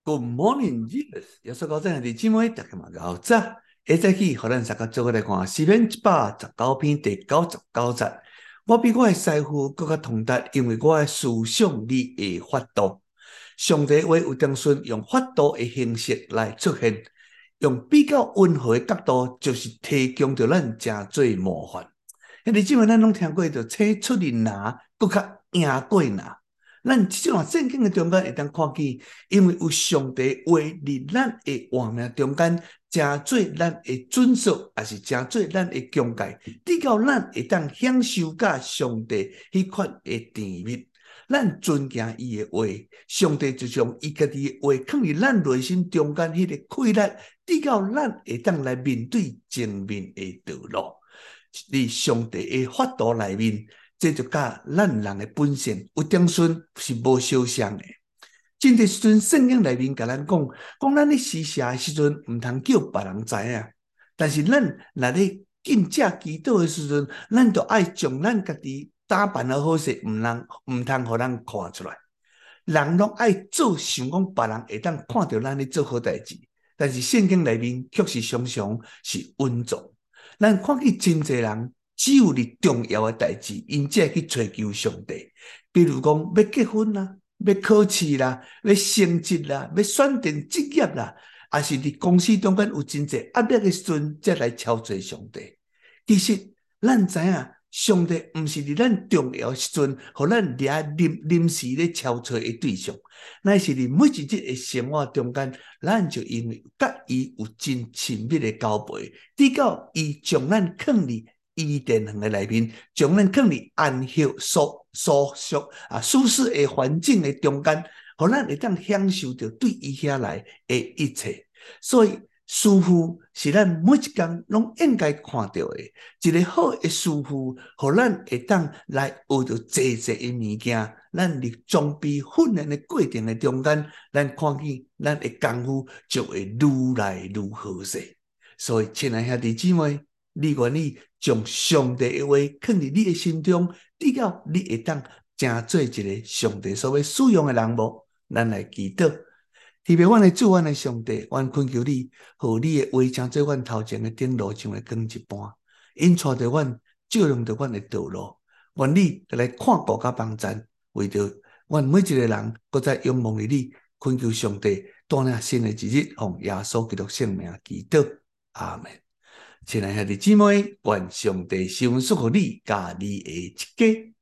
Good morning, Jesus！耶穌高真係姊妹，大家嘛好早。下早起，互咱大家做伙來看詩篇119篇第99節。我比我的師傅更加通達，因為我的思想你的法度。上帝話有當時用法度的形式來出現，用比較溫和的角度，就是提供着咱真濟模範。你姊妹，咱攏聽過着青出的拿，更較贏過拿。咱即種聖經的中間會當看見，因為有上帝話佇咱的活命中間，真做咱的準則，也是真做咱的境界，直到咱會當享受甲上帝迄款的甜蜜。咱尊敬伊的話，上帝就將伊家己的話放佇咱內心中間迄個氣力，直到咱會當來面對前面的道路。佇上帝的法度內面。這就甲咱人的本性有點順是無相像的。真的時陣，聖經內面甲咱講咱咧施捨的時陣，毋通叫別人知影。但是咱若咧敬祭祈禱的時陣，咱就愛將咱家己打扮得好勢，毋通互人看出來。人攏愛做想講別人會當看到咱咧做好代志，但是聖經內面卻是常常是穩重。咱看見真濟人。只有你重要的代志，因才去追求上帝。比如講，要結婚啦，要考試啦，要升職啦，要選定職業啦，還是佇公司中間有真濟壓力的時陣，才來超濟上帝。其實，咱知影，上帝毋是佇咱重要的時陣，互咱臨時咧超濟的對象，乃是佇每一日的生活中間，咱就因為甲伊有真親密的交陪，直到伊將咱放佇伊殿堂的內面，將咱放佇安息舒適的環境的中間，互咱會當享受到對伊遐來的一切。所以師父是咱每一天攏應該看到的，一個好的師父，互咱會當來學到濟濟的物件。咱佇裝備訓練的過程的中間，咱看見咱的功夫就會愈來愈好勢。所以，親愛兄弟姊妹，你願意將上帝的話放佇你的心中，直到你會當真做一個上帝所要使用的人無？咱來祈禱，特別阮的主，阮的上帝，阮懇求你，互你的話真做阮頭前的燈路像個光一般，引帶着阮，照亮着阮的道路。願你來看顧甲幫助，為着阮每一個人，擱再仰望於你，懇求上帝帶領新的一日，奉耶穌基督聖名祈禱，阿門。親愛的姊妹，願上帝賜福予你，甲你的一家。